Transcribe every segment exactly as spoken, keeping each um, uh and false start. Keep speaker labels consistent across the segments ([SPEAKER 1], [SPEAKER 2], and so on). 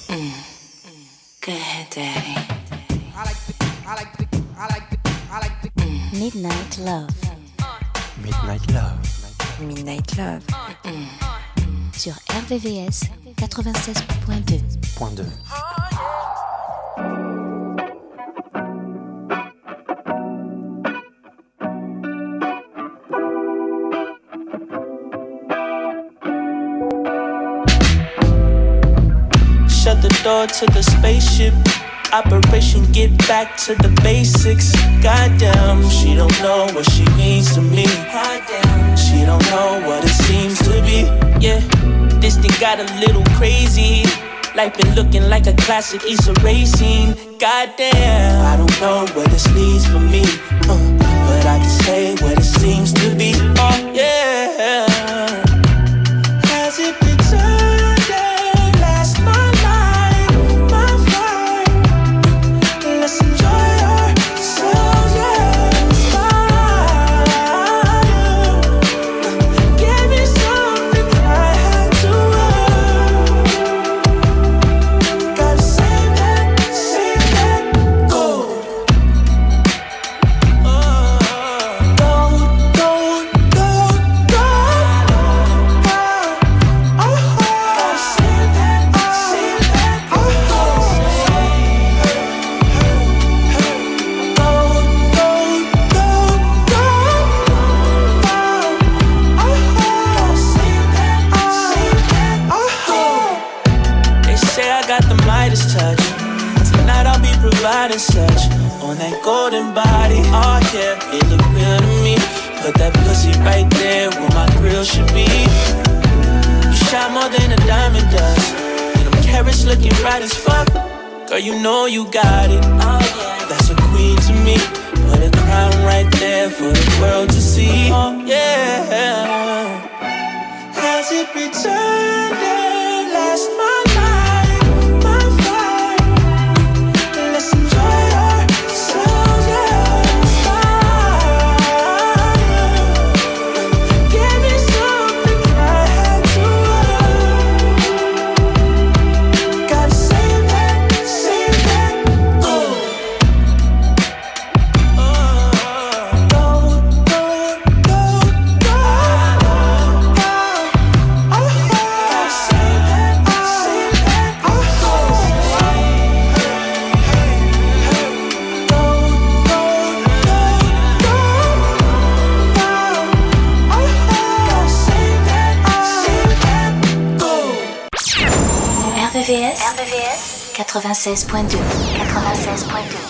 [SPEAKER 1] Mm. Go ahead, Daddy.
[SPEAKER 2] I like the, I like the, I like the, I like the.
[SPEAKER 1] Mm. Midnight Love.
[SPEAKER 3] Midnight Love.
[SPEAKER 1] Midnight Love. Mm. Sur R V V S quatre-vingt-seize point deux.
[SPEAKER 3] Point deux.
[SPEAKER 4] Shut the door to the spaceship. Operation get back to the basics. Goddamn, she don't know what she means to me. Goddamn, she don't know what it seems to be. Yeah, this thing got a little crazy. Life been looking like a classic Issa Rae scene. Goddamn, I don't know where this leads for me, uh, but I can say what it seems to be. Oh yeah, has it returned? Providing such on that golden body. Oh yeah, it look real to me. Put that pussy right there where my grill should be. You shot more than a diamond does, and them carrots looking right as fuck. Girl, you know you got it. Oh yeah, that's a queen to me. Put a crown right there for the world to see. Oh yeah, has it returned and lost my
[SPEAKER 1] R V V S, R V V S quatre-vingt-seize point deux. quatre-vingt-seize point deux.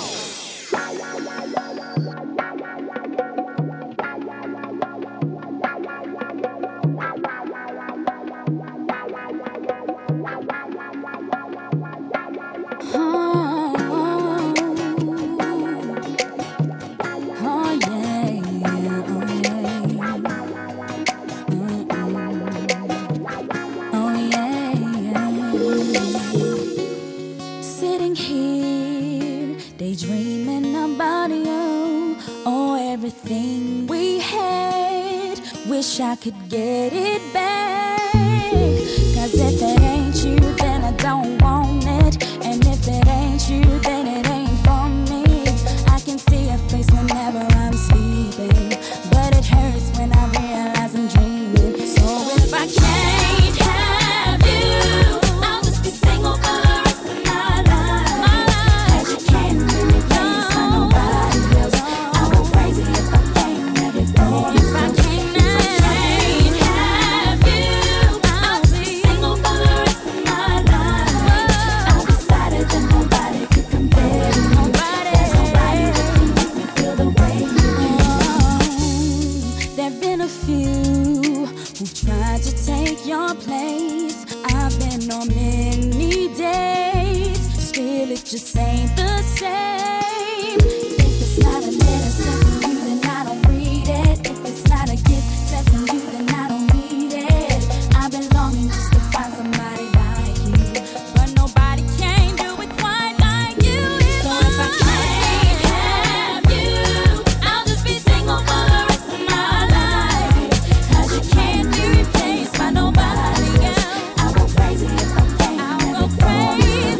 [SPEAKER 5] I could get it back. Cause if it ain't you, then I don't want it. And if it ain't you, then it ain't for me. I can see your face whenever I'm sleeping, but it hurts when I realize I'm dreaming. So if I can't have you, I'll just be single for the rest of my life. My life. Cause you can't be replaced by nobody else. I go crazy if I can't have it for you. If I can't your place. I've been on many dates, still it just ain't the same. If it's not a letter sent from you, then I don't read it. If it's not a gift sent from you, then I don't need it. I've been longing just to find somebody like you, but nobody can do it quite like you. So if I can't have you, I'll just be single for the rest of my life. Cause you can't be replaced by nobody else. I go crazy if I can't. I'll go crazy.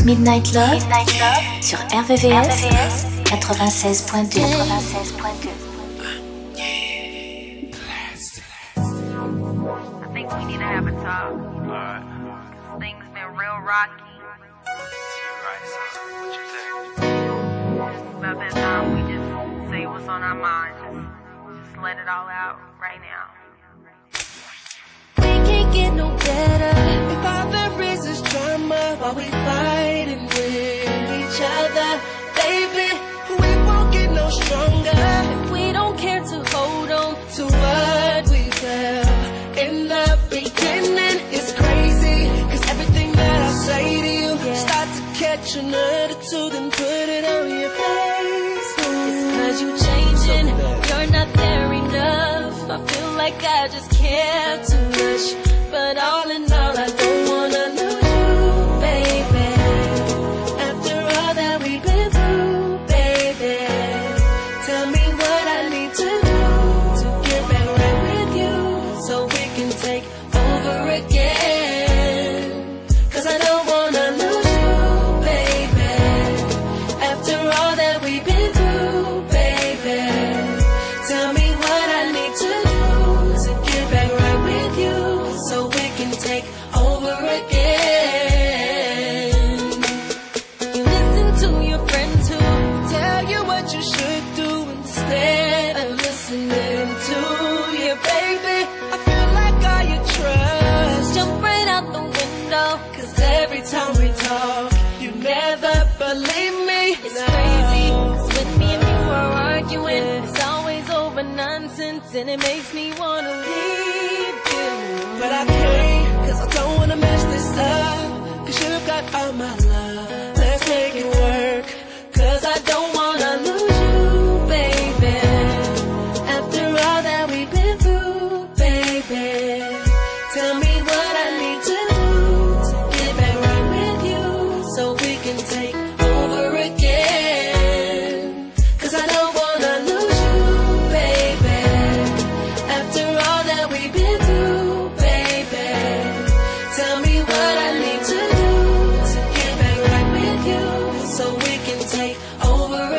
[SPEAKER 1] Midnight Love, Midnight Love sur R V V S quatre-vingt-seize point deux. quatre-vingt-seize point deux.
[SPEAKER 6] I think we need to have a talk. Alright. Things been real rocky.
[SPEAKER 3] Right, so what you think?
[SPEAKER 6] It's about that time we just say what's on our minds. Just, just let it all out right now.
[SPEAKER 7] We can't get no better if all there is is drama while we fighting with each other. Baby, we won't get no stronger if we don't care to hold on to what we felt in the beginning. It's crazy, cause everything that I say to you, yeah, start to catch an attitude and put it on your face. It's cause you changing, you're not there enough. I feel like I just care too much, but all in all I don't wanna lose you, baby. After all that we've been through, baby, tell me what I need to do to get back right with you, so we can take over again. Cause I don't wanna lose you, baby. After all that we've been through, baby, tell me what I need to do to get back right with you, so we can take over again. You listen to your friends who tell you what you should do instead of listening to your baby. I feel like all your trust jump right out the window, cause every time we talk, you never believe me. It's no. Crazy, cause when me and you are arguing, it's always over nonsense, and it makes me wanna leave you. But I can't, cause I don't wanna mess this up, cause you got all my love. Let's make it work, cause I don't wanna lose you, baby. After all that we've been through, baby, tell me what I need to do to get back right with you, so we can take over again. Cause I don't wanna lose you, baby. After all that we've been through, baby, tell me what I need to do to get back right with you, so we can take over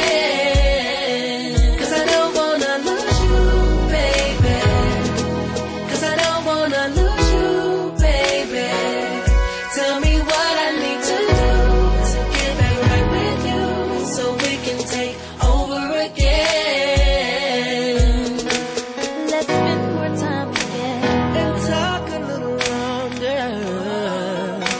[SPEAKER 7] again. Cause I don't wanna lose you, baby. Cause I don't wanna lose you, baby. Tell me what I need to do to get back right with you, so we can take over again. Let's spend more time together and talk a little longer.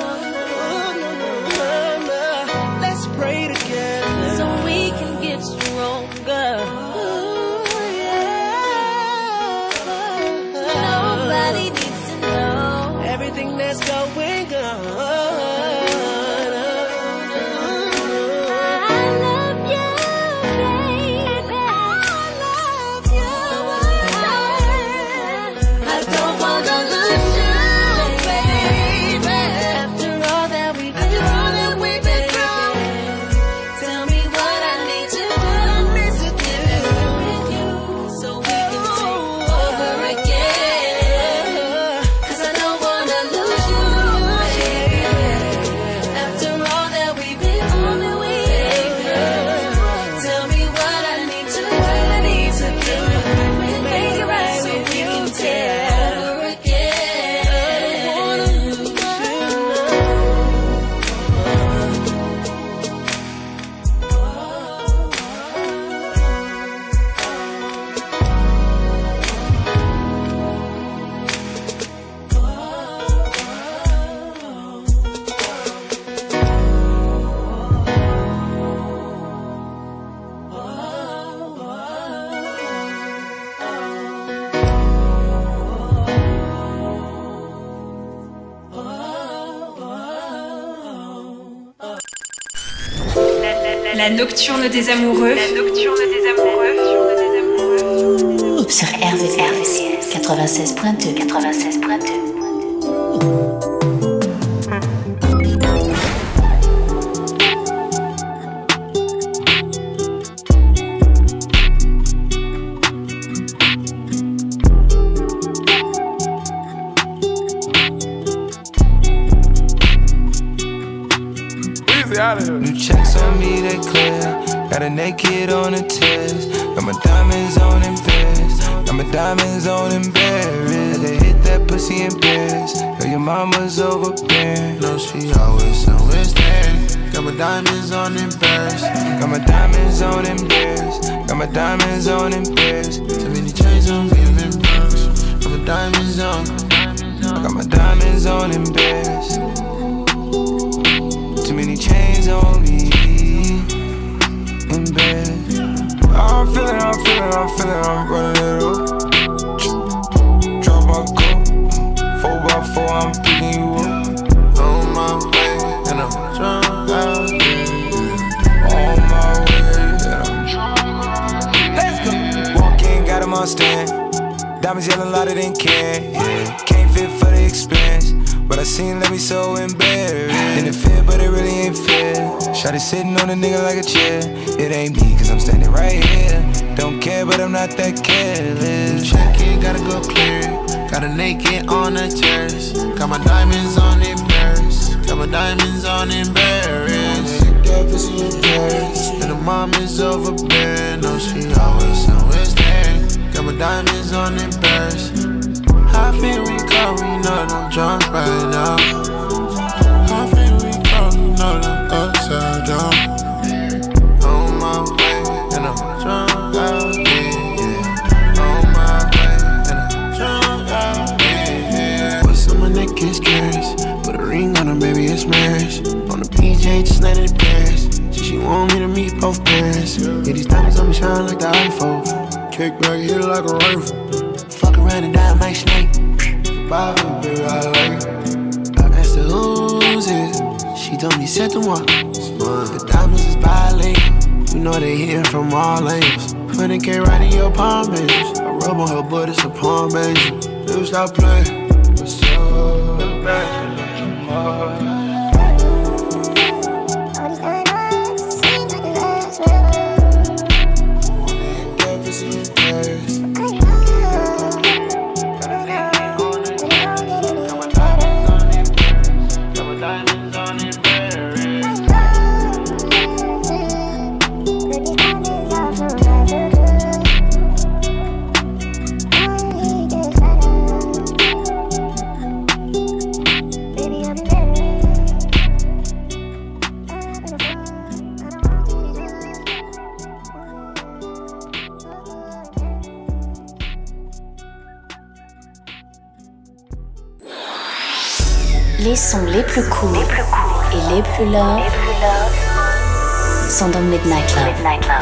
[SPEAKER 7] Let's pray together so we can get stronger. Nobody needs to know everything that's going on. I love you, baby. I love you. I don't wanna lose you, baby. After all that we've been through, tell me what I need to do to get back with you, so we can take over again. Cause I don't wanna lose you, baby. After all that we've been through, baby, tell me what I need to do, I need to do to make it right, so we can take over again. I don't wanna lose you.
[SPEAKER 8] La nocturne des amoureux. La nocturne des amoureux.
[SPEAKER 1] Sur R V V S quatre-vingt-seize point deux. quatre-vingt-seize point deux.
[SPEAKER 9] out of here. New checks on me, they clear. Got a naked on the test. Got my diamonds on in Paris. Got my diamonds on in Paris. They hit that pussy in Paris. Know your mama's overbearing. No, she always, always there. Got my diamonds on in Paris. Got my diamonds on in Paris. Got my diamonds on in Paris. Too many chains on me, I'm in Paris. Got my diamonds on. I got my diamonds on in Paris. Too many chains on me in bed. I'm feeling, I'm feeling, I'm feeling, I'm running it up. Drop my cup, four by four, I'm picking you up. On my way, and I'm drunk out here. On my way, and I'm let's go. Walk in, got him on stand. Diamonds yelling louder than can. Yeah. Can't fit for the expense, but I seen let me so embarrassed. And it fit, but it really ain't fair. Shawty sitting on a nigga like a chair. It ain't me, cause I'm standing right here. Don't care, but I'm not that careless. Check it, gotta go clear. Got a naked on the terrace. Got my diamonds on in Paris. Got my diamonds on in Paris. And the mom is overbearing. No, she always, always there. Got my diamonds on in Paris. I feel we call, we know that I'm drunk right now. I feel we call, we know that I'm upside down. On my way, and I'm drunk out here, yeah. On my way, and I'm drunk out here, yeah. What's on my neck is scary. Put a ring on her, baby, it's marriage. On the P J, just let it pass. So she want me to meet both parents. Yeah, these diamonds on me shine like the iPhone. Kick back, hit it like a rifle. Fuck around and die, my snake. Bye, baby, I like it. I asked her who's it. She told me, c'est moi. The diamonds is bilingual. You know they hitting from all angles. When it came right in your palm, baby. I rub on her butt, it's a palm, baby. Dude, stop playing. What's up? The best in your heart.
[SPEAKER 1] Les sons les plus courts les plus cool et les plus love, les plus love sont dans Midnight Love. Midnight Love.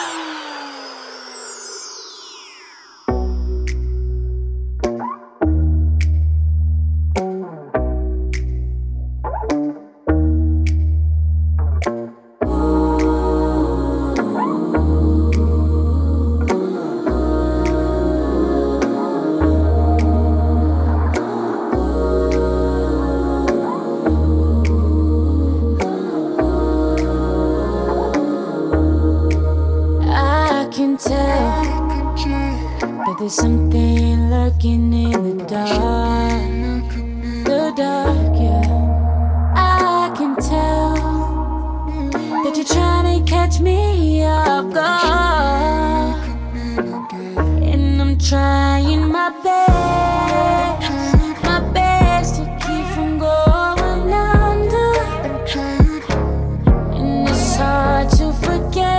[SPEAKER 5] There's something lurking in the dark, the dark, yeah. I can tell that you're trying to catch me off guard, and I'm trying my best, my best to keep from going under, and it's hard to forget.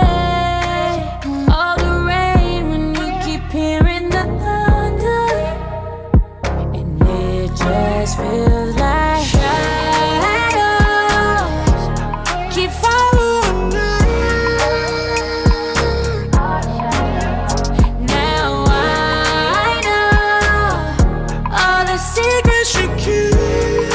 [SPEAKER 5] Feels like shadows keep following me. Now I know all the secrets you keep.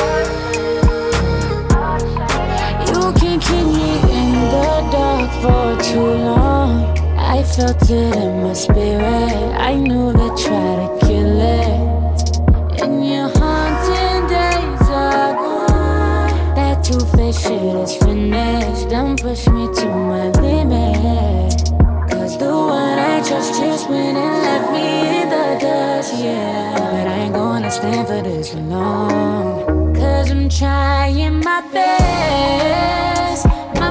[SPEAKER 5] You can keep me in the dark for too long. I felt it in my spirit. I knew they'd try to kill it. In your haunting days are gone. That two-faced shit is finished. Don't push me to my limit. Cause the one I trust just went and left me in the dust, yeah. But I ain't gonna stand for this long. Cause I'm trying my best, my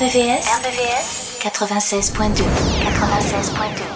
[SPEAKER 1] V S, R B V S quatre-vingt-seize point deux. quatre-vingt-seize point deux.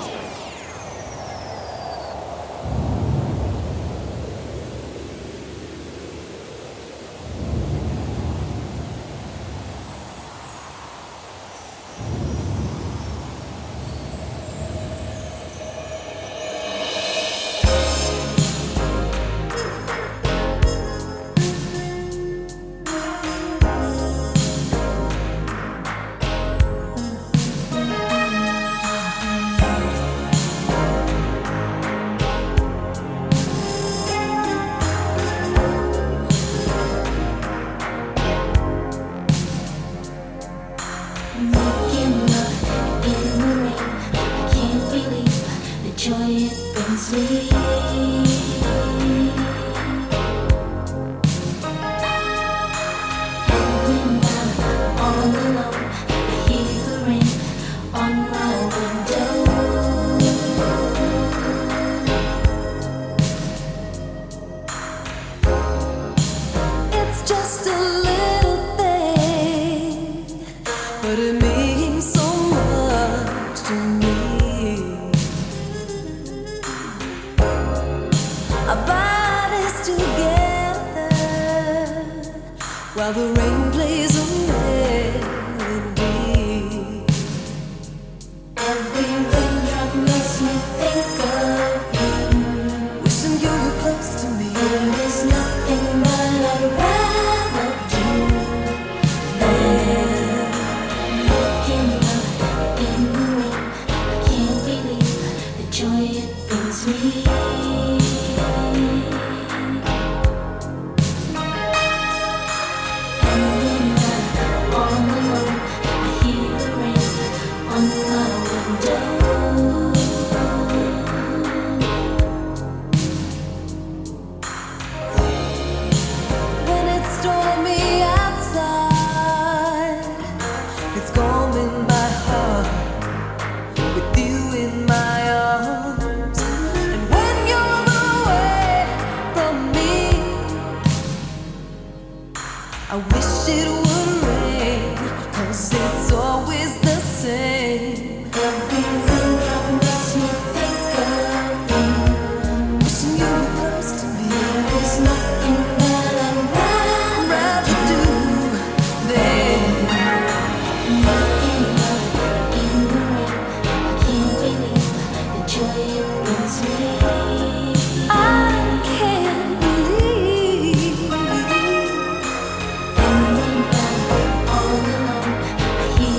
[SPEAKER 5] All alone, I hear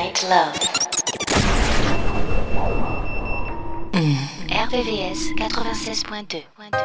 [SPEAKER 1] Midnight Love. Mm. R V V S quatre-vingt-seize point deux.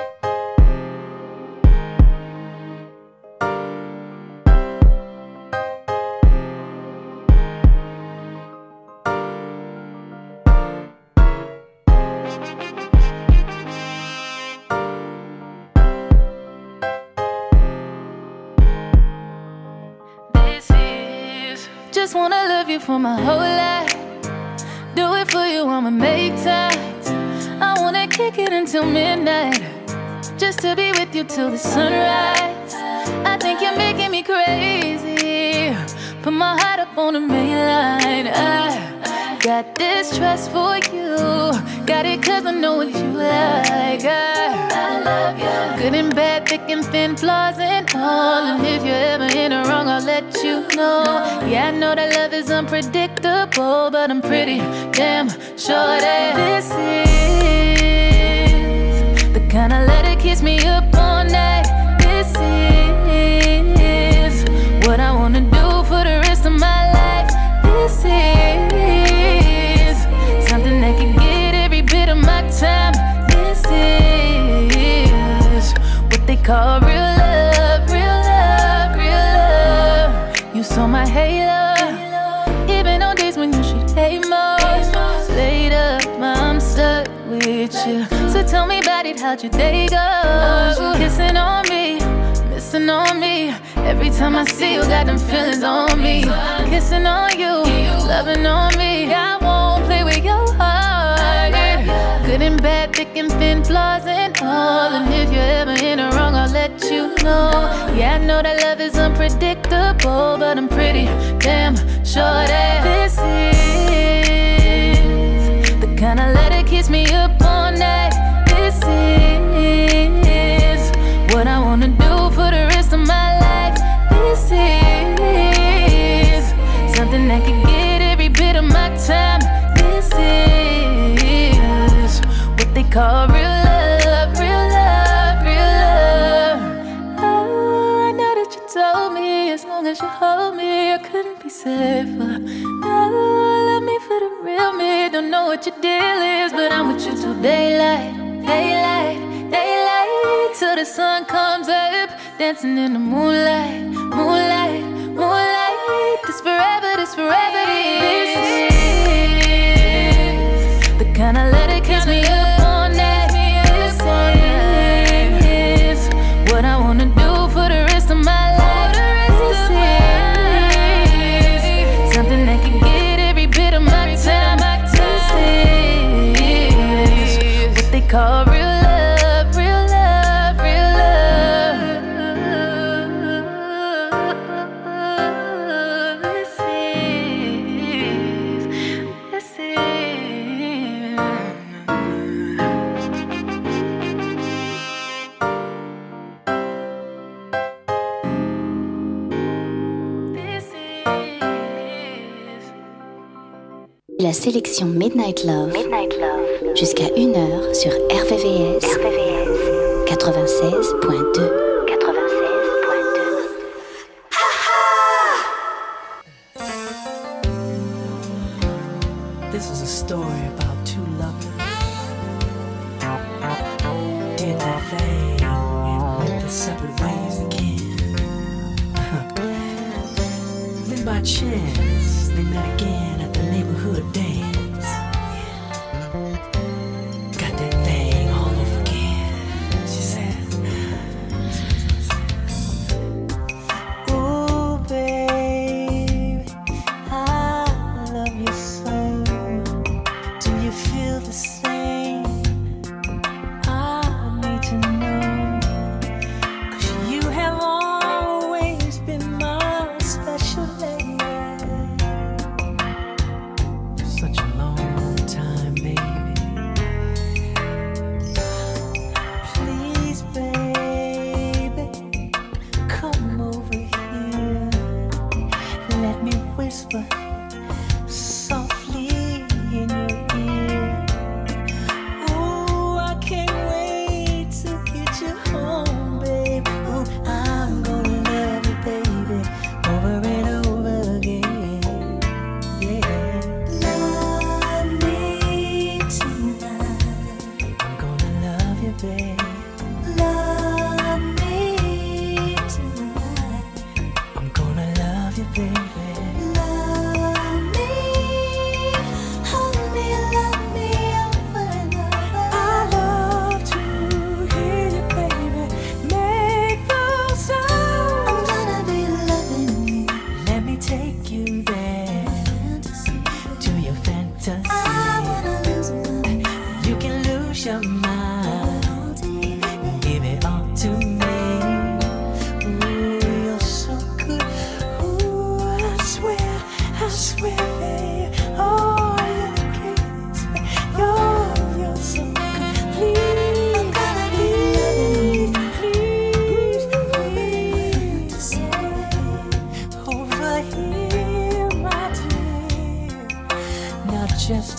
[SPEAKER 10] Just wanna love you for my whole life. Do it for you, I'ma make time. I wanna kick it until midnight, just to be with you till the sunrise. I think you're making me crazy. Put my heart up on the main line. I got this trust for you. Got it cause I know what you like. I, I love you. Good and bad, thick and thin, flaws and all. And if you're ever in the wrong, I'll let you know. Yeah, I know that love is unpredictable, but I'm pretty damn sure that this is the kind of love that keeps me up all night. This is what I wanna do for the rest of my life. This is something that can get every bit of my time. This is what they call real love, real love, real love. You saw my halo, even on days when you should hate most. Laid up, I'm stuck with you. So tell me about it, how'd your day go? Kissing on me, missing on me. Every time I see you, got them feelings on me. Kissing on you, loving on me. I won't play with your heart. Good and bad, thick and thin, flaws and all. And if you're ever in the wrong, I'll let you know. Yeah, I know that love is unpredictable, but I'm pretty damn sure that this is the kind of love that keeps me up all night. This is what I wanna do for the rest of my life. This is something that can get every bit of my time. This is what they call real love, real love, real love. Oh, I know that you told me as long as you hold me, I couldn't be safer. Oh, love me for the real me. Don't know what your deal is, but I'm with you till daylight, daylight, daylight, till the sun comes up. Dancing in the moonlight, moonlight, moonlight. This forever, this forever, this is the kind of love that keeps me up all night. This is what I wanna do for the rest of my life. This is something that can get every bit of my time. This is what they call real love, real love, real love. This is, this is.
[SPEAKER 1] La sélection Midnight Love, Midnight Love. Jusqu'à une heure sur R V V S, R V V S quatre-vingt-seize point deux.
[SPEAKER 11] This is a story about two lovers. Did their thing and went their separate ways again. Then by chance, they met again at the neighborhood dance. Got that thing all over again, she says. Ooh, babe, I love you so. Do you feel the same? I need to know. 'Cause you have always been my special lady.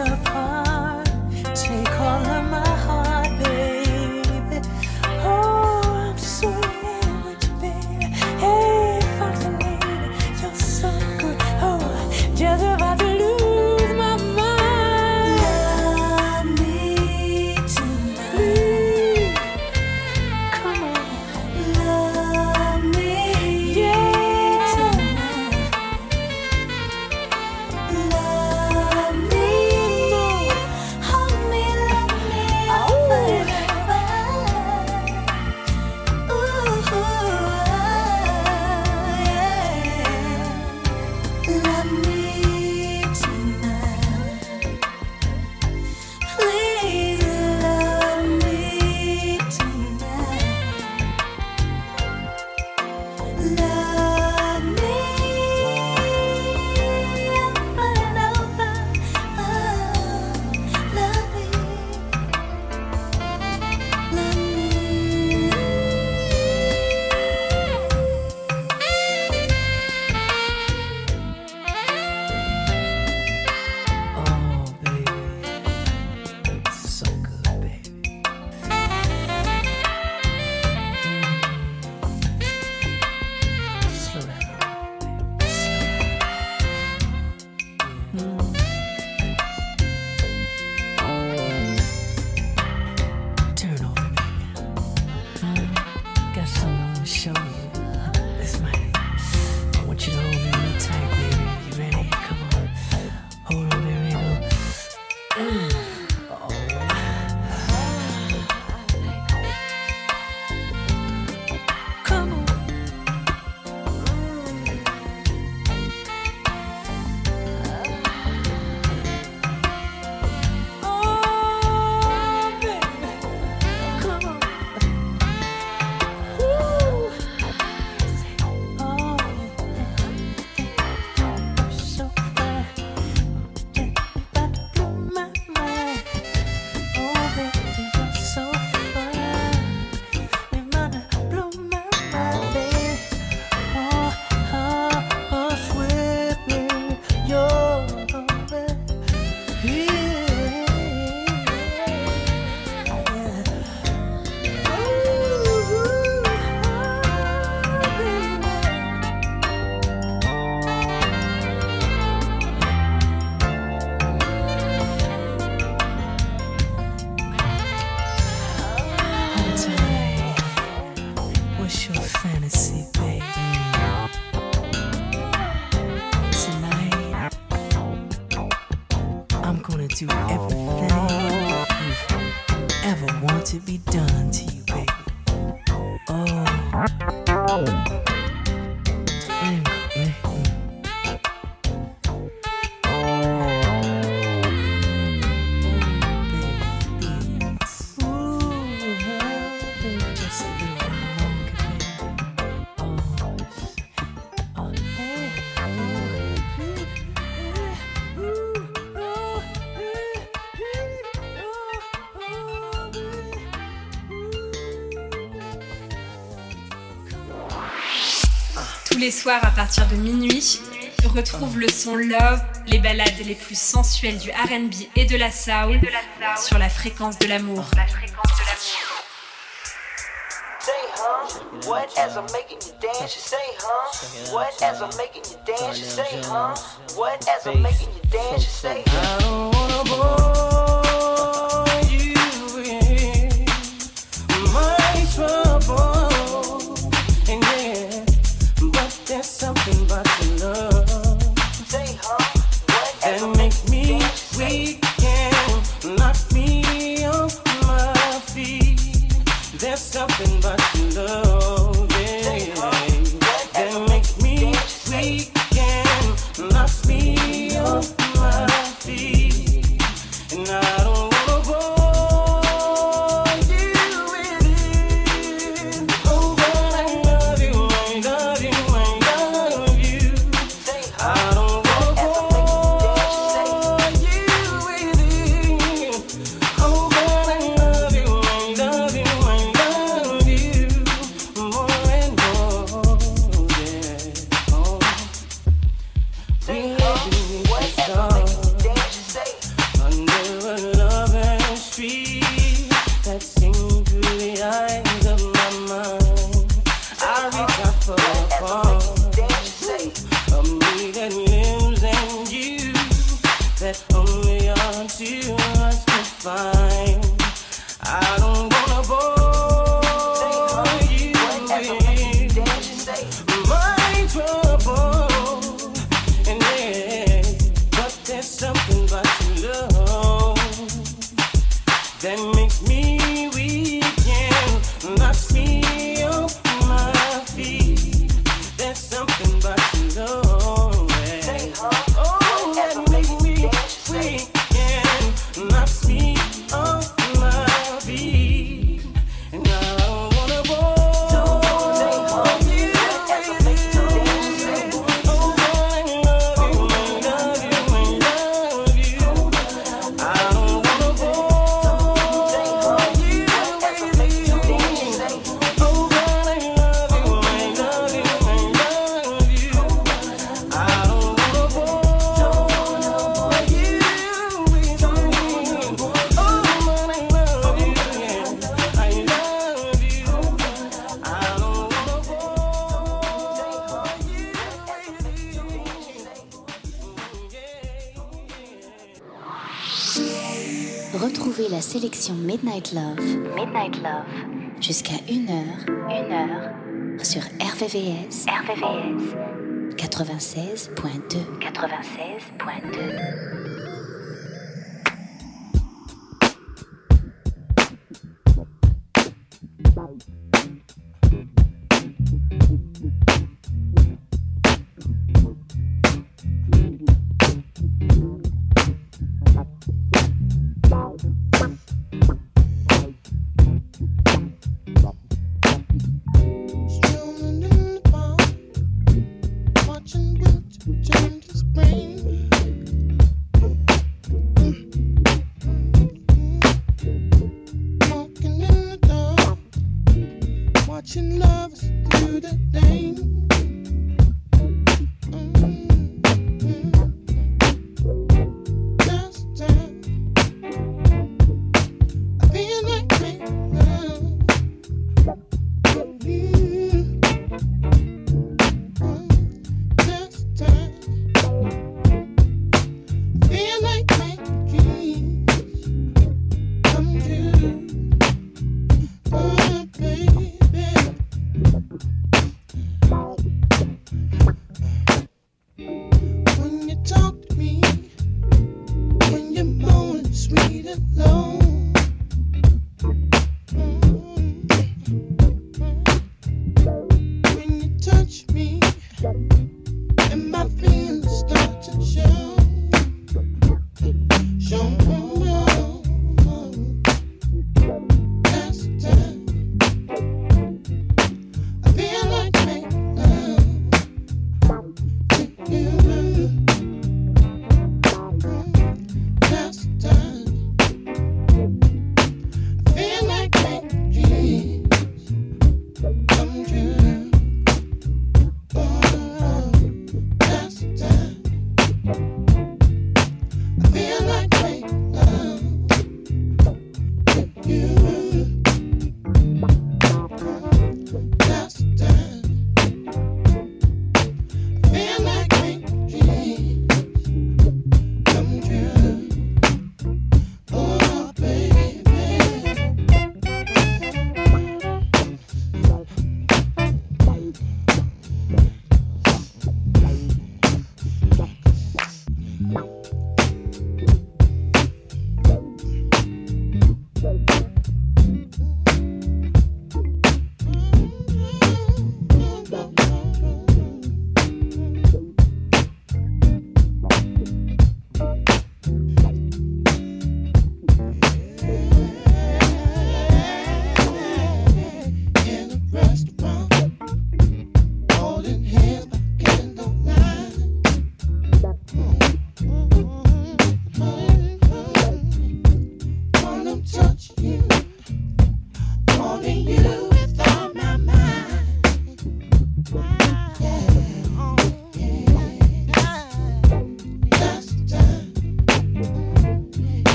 [SPEAKER 11] apart. Take all of my heart, baby. Oh, I'm so in love with you, baby. Hey, fascinated, you're so good. Oh, just about to lose my mind. Love me tonight. Come on, love me, yeah, tonight. Love me, hold me, love me forever. Ooh, yeah. Love me tonight. Please love me tonight. Love me over and over. Oh, love me, love me. Oh, baby, so good, baby. Slow down, baby. Slow down. Turn over, baby. Got something I want to show you. This might. I want you to hold me real tight, baby. You ready? Come on. Hold on, there we go. Come on. Oh, baby. Come on. Woo. Oh, you're so fine. You're about to blow my mind. Oh, baby, you're so fine. You're about to blow my mind, baby. Oh, oh, oh, sweet baby, you're What's your fantasy, baby? Tonight, I'm gonna do everything you've ever want to be done to you, baby. Oh. Mm, mm, mm.
[SPEAKER 8] Tous les soirs à partir de minuit, retrouve le son Love, les ballades les plus sensuelles du R and B et de la soul sur la fréquence de l'amour.
[SPEAKER 12] Say, huh? What as I'm making you dance? You say, huh? What as I'm making you dance? You say, huh? What as I'm making you dance? You say,
[SPEAKER 4] I don't wanna bore you with my trouble, and yeah, but there's something about your love.
[SPEAKER 12] Say, huh? What as
[SPEAKER 4] That
[SPEAKER 12] I'm
[SPEAKER 4] makes
[SPEAKER 12] making you
[SPEAKER 4] me
[SPEAKER 12] dance? You say,
[SPEAKER 4] weak and knocks me off my feet. There's something about your love, yeah, that makes me weak and knocks me off my feet. And
[SPEAKER 1] Retrouvez la sélection Midnight Love, Midnight Love, jusqu'à une heure, une heure, sur R V V S, R V V S, quatre-vingt-seize point deux, quatre-vingt-seize point deux.
[SPEAKER 13] Watching winter turn to spring.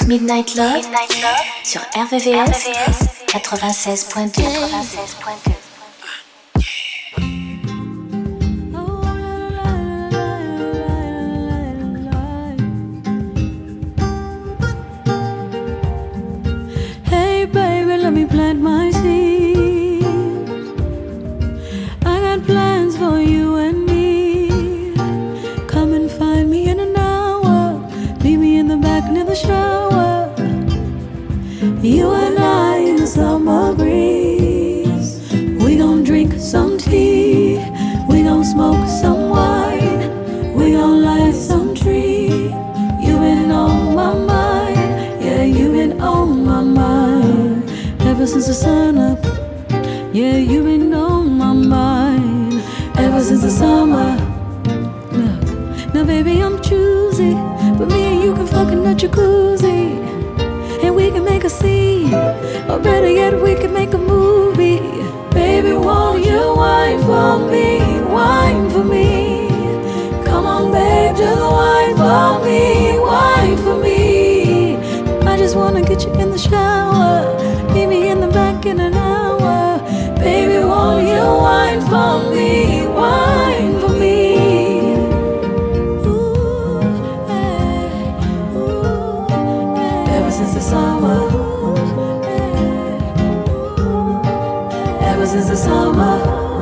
[SPEAKER 1] Midnight Love, Midnight Love sur R V V S, quatre-vingt-seize point deux. quatre-vingt-seize point deux.
[SPEAKER 13] Hey baby, let me plant my seeds. I got plans for you and me. Come and find me in an hour. Meet me in the back near the shower. You and I in the summer breeze. We gon' drink some tea. We gon' smoke some wine. We gon' light some tree. You been on my mind. Yeah, you been on my mind. Ever since the sun up. Yeah, you been on my mind. Ever since the summer. Look, now baby I'm choosy, but me and you can fuck in the jacuzzi. And we can make a scene, or better yet, we can make a movie. Baby, won't you wine for me, wine for me? Come on, babe, just wine for me, wine for me. I just wanna get you in the shower, meet me in the back in an hour. Baby, won't you wine for me, wine for me? Since the summer, ever since the summer,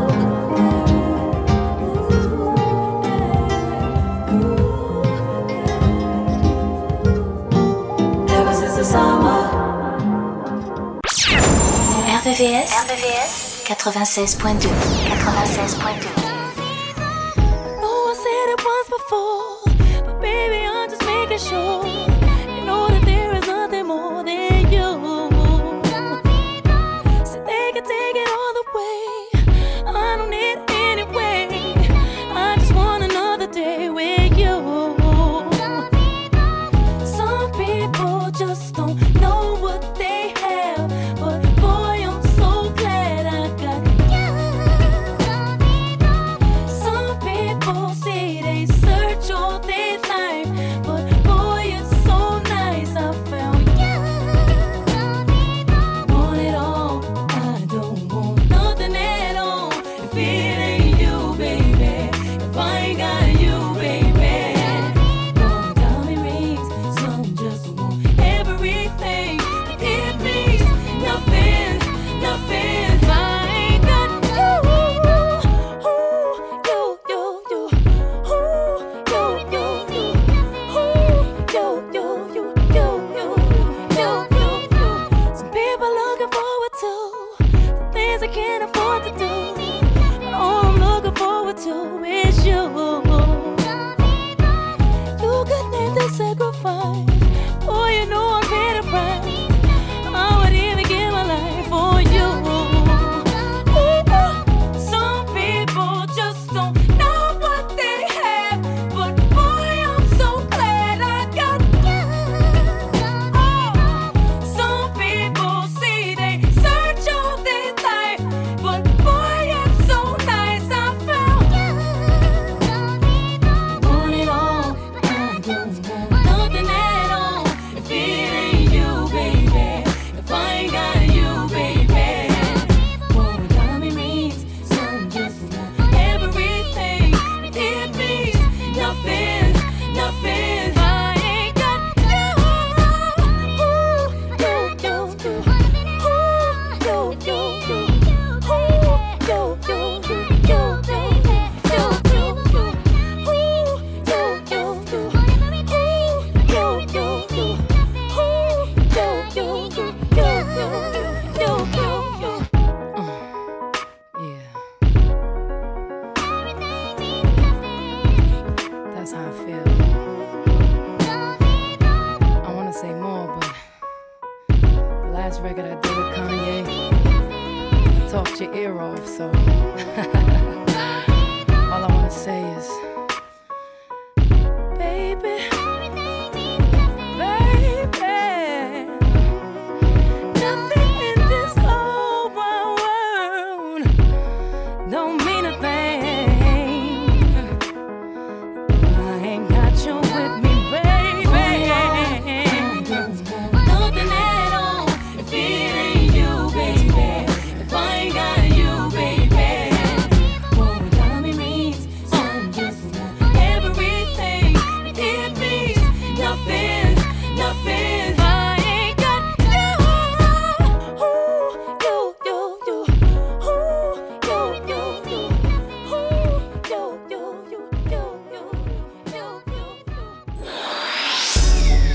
[SPEAKER 13] ever since the summer.
[SPEAKER 1] R V V S, R V V S, quatre-vingt-seize point deux. quatre-vingt-seize point deux.
[SPEAKER 13] Oh, I said it once before, but baby, I'm just making sure. You know that there is nothing more than you. So they can take it all the way. I don't need it anyway. I just want another day with you. Some people just don't know what they have, but boy, I'm so glad I got you. Some people say they search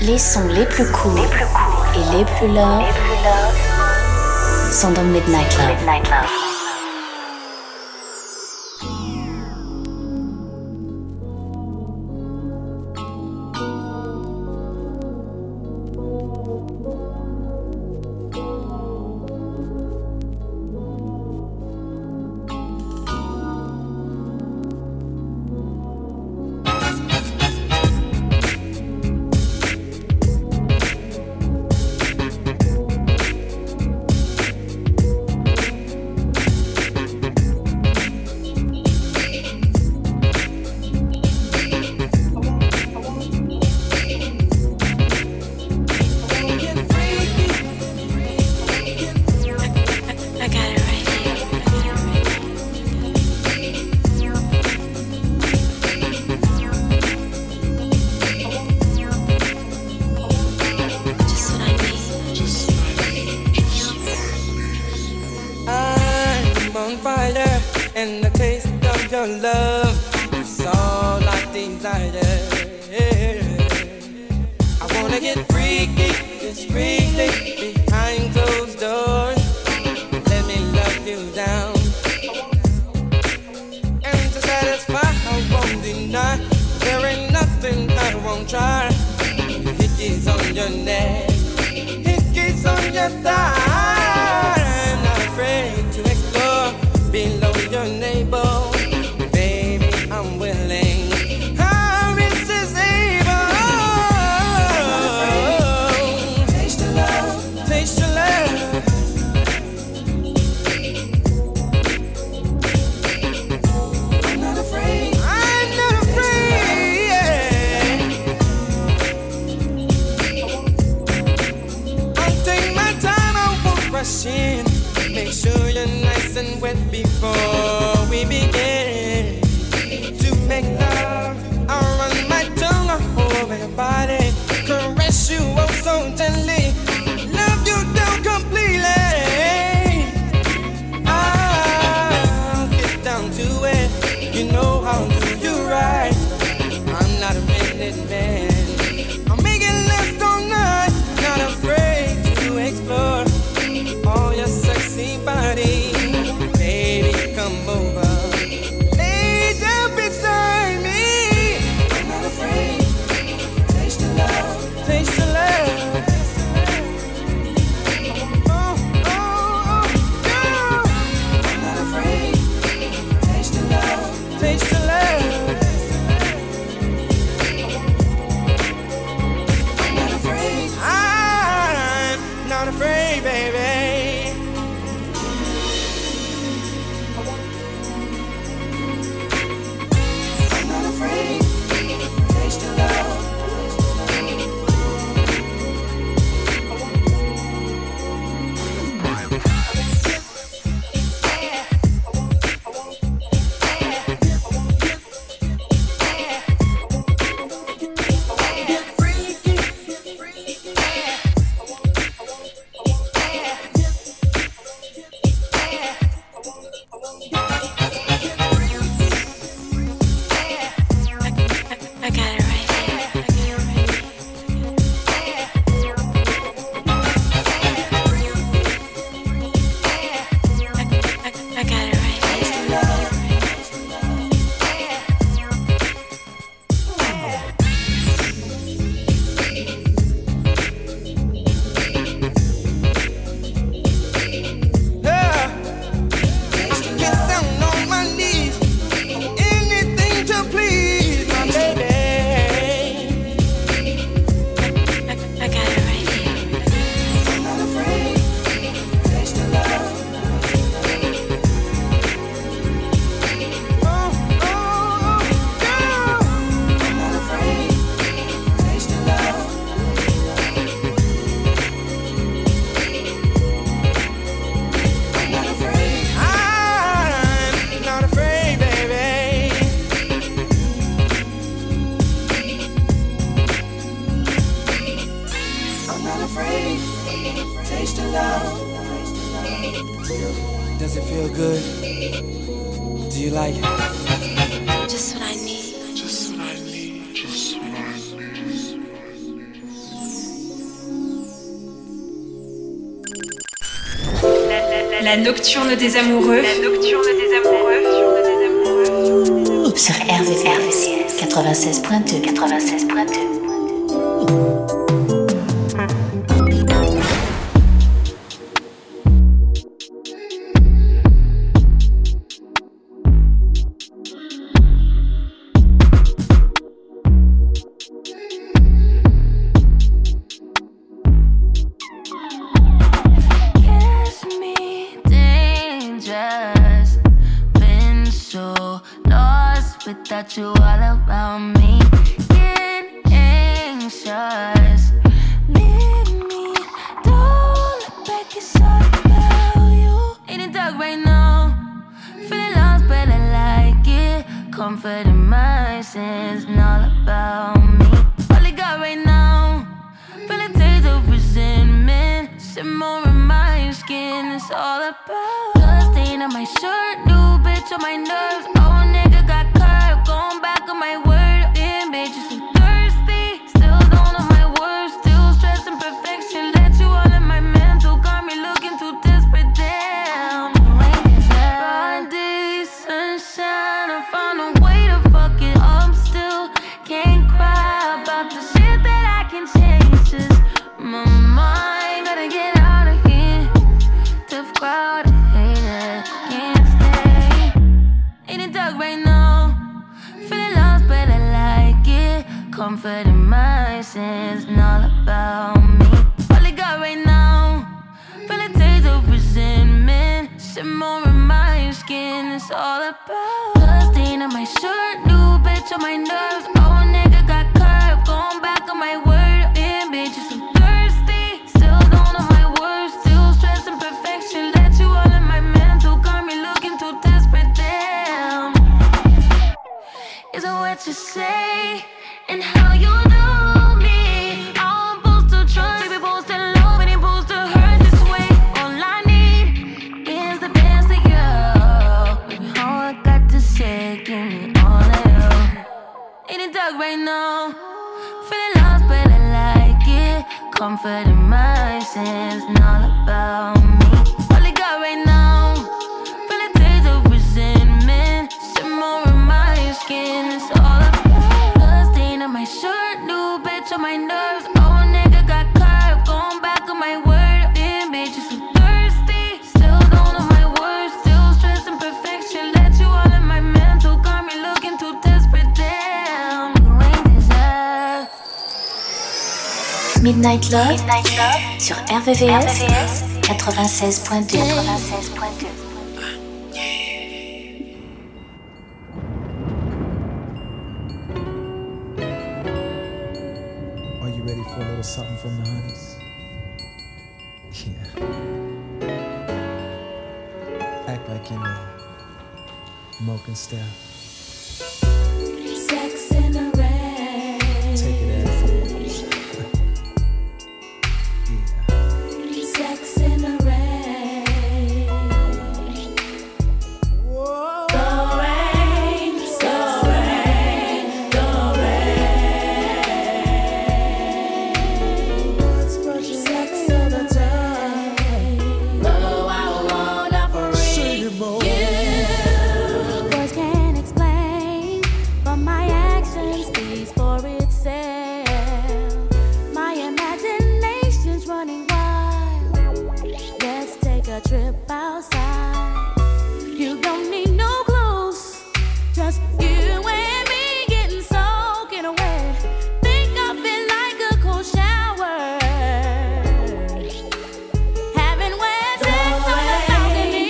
[SPEAKER 1] Les sons les plus courts et les plus love sont dans Midnight Love. Midnight Love.
[SPEAKER 14] Make sure you're nice and wet before we begin to make love. I'll run my tongue all over your body, caress you oh so gently, love you down completely. I'll get down to it, you know how to do you right. I'm not a minute man, I'm making love all night, not afraid to explore all your sexy body. Baby, come over, lay down beside me. I'm not afraid, taste the love, taste the love. Oh, oh, oh, yeah. I'm not afraid, taste the love, taste the love. I'm not afraid, I'm not afraid, baby. Does it feel good? Do you like it?
[SPEAKER 15] Just what I need. Just what I need. Just what I need.
[SPEAKER 8] La nocturne des amoureux. La nocturne des amoureux.
[SPEAKER 1] Sur R V V S quatre-vingt-seize point deux. quatre-vingt-seize point deux.
[SPEAKER 15] Without you all around me, get anxious. Leave me, don't look back, it's all about you. In the dark right now, feeling lost but I like it. Comfort in my sins and all about me. All I got right now, feeling taste of resentment. Simmer in my skin, it's all about blood stain on my shirt, new bitch on my nerves. Oh nigga got curved, going back on my word. Damn bitch, you so thirsty, still don't know my words. Still stressing perfection, let you all in my mental. Got me looking too desperate, damn. Broad day, sunshine, I found a way to fuck it up still. Can't cry about the shit that I can change. Just my mind, gotta get out of here. Tough crowd, I hate it, can't stay. In the dark right now, feeling lost but I like it. Comfort in my sins and all about me. All I got right now, feeling taste of resentment. Simmer in my skin, it's all about blood stain on my shirt, new bitch on my nerves. Oh nigga got curved, going back on my word. Damn bitch, you so thirsty, still don't know my words. Still stressing perfection, let you all in my mental. Got me looking too desperate, damn. Is it what you say and how you do me? I'm supposed to trust, baby, supposed to love, and it's supposed to hurt this way. All I need is the best of you. Baby, all I got to say, give me all of you. In the dark right now, feeling lost but I like it. Comfort in my sins and all about me. All I got right now, feeling taste of resentment. Simmer in my skin, it's all about blood stain on my shirt, new bitch on my nerves. Oh nigga got curved, going back on my word. Damn bitch, you so thirsty, still don't know my words. Still stressing perfection, let you all in my mental. Got me looking too desperate, damn. You ain't deserve.
[SPEAKER 1] Midnight Love, Midnight Love sur R V V S quatre-vingt-seize point deux. quatre-vingt-seize point deux.
[SPEAKER 16] Are you ready for a little something from the honeys? Yeah. Act like you know. Mocha style.
[SPEAKER 13] Sex in the rain.
[SPEAKER 16] Take it as it is.
[SPEAKER 13] Sex in the rain. Whoa. The rain, the rain, the rain. Sex in the rain. Oh, I wanna freak you. Words can't explain, but my action speaks for itself. My imagination's running wild. Let's take a trip outside. You don't need no clues, just you and me getting soaking wet. Think of it like a cold shower. Having wet sex on the balcony.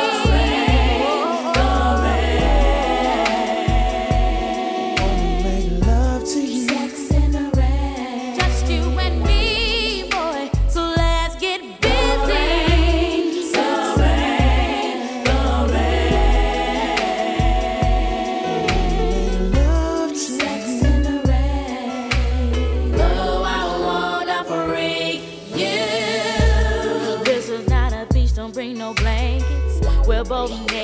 [SPEAKER 16] Make love to you.
[SPEAKER 13] Sex in the rain. Just you and me, boy. So let's get busy. The rain, the rain.
[SPEAKER 16] Love to
[SPEAKER 13] Sex in the rain. Oh, I wanna freak you. This is not a beach, don't bring no blankets. We're both naked.